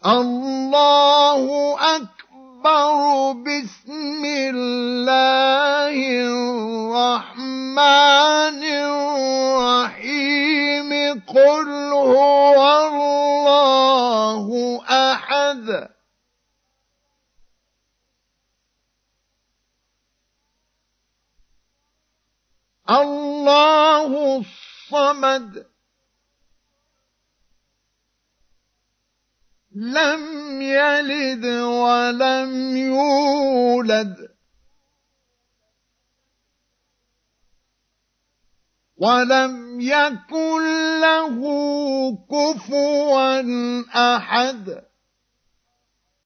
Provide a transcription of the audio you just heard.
الله أكبر. بسم الله الرحمن الرحيم. قل هو الله أحد الله الصمد لم يلد ولم يولد ولم يكن له كفوا أحد.